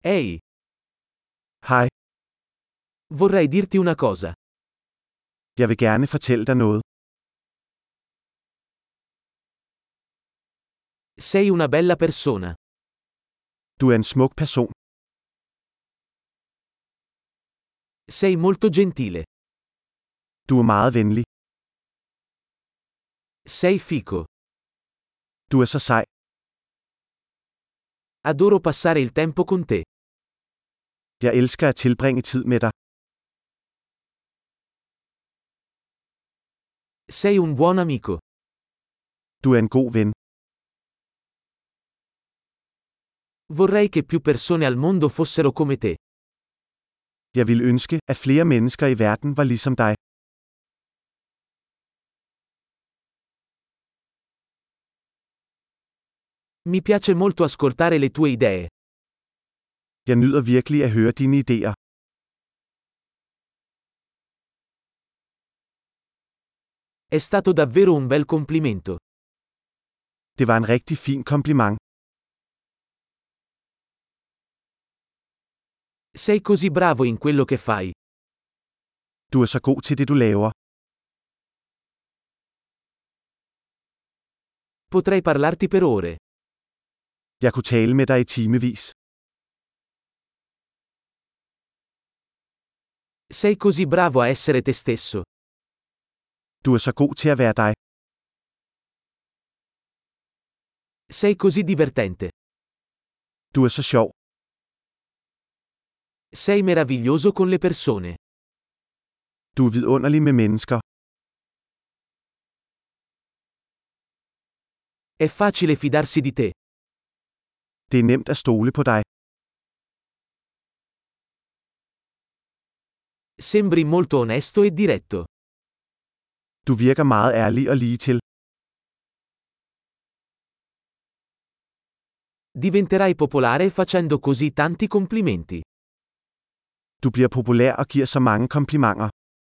Ehi, Hej, vorrei dirti una cosa. jeg vil gerne fortælle dig noget. Sei una bella persona. Du er en smuk person. Sei molto gentile. Du er meget venlig. Sei fico. Du er så sej. Adoro passare il tempo con te. Jeg elsker at tilbringe tid med dig. Sei un buon amico. Du er en god ven. Vorrei che più persone al mondo fossero come te. Jeg ville ønske, at flere mennesker i verden var ligesom dig. Mi piace molto ascoltare le tue idee. Jeg nyder virkelig at høre dine idéer. È stato davvero un bel complimento. Det var en rigtig fin kompliment. Sei così bravo in quello che fai. Du er så god til det, du laver. Potrei parlarti per ore. Jeg kunne tale med dig i timevis. Sei così bravo a essere te stesso. Du er så god til at være dig. Sei così divertente. Du er så sjov. Sei meraviglioso con le persone. Du er vidunderlig med mennesker. È facile fidarsi di te. Det er nemt at stole på dig. Sembri molto onesto e diretto. Du virker meget ærlig og ligetil. Diventerai popolare facendo così tanti complimenti. Du bliver populær og giver så mange komplimenter.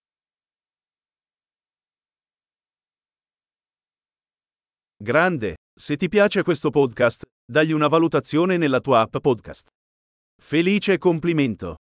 Grande, se ti piace questo podcast, dagli una valutazione nella tua app podcast. Felice complimento!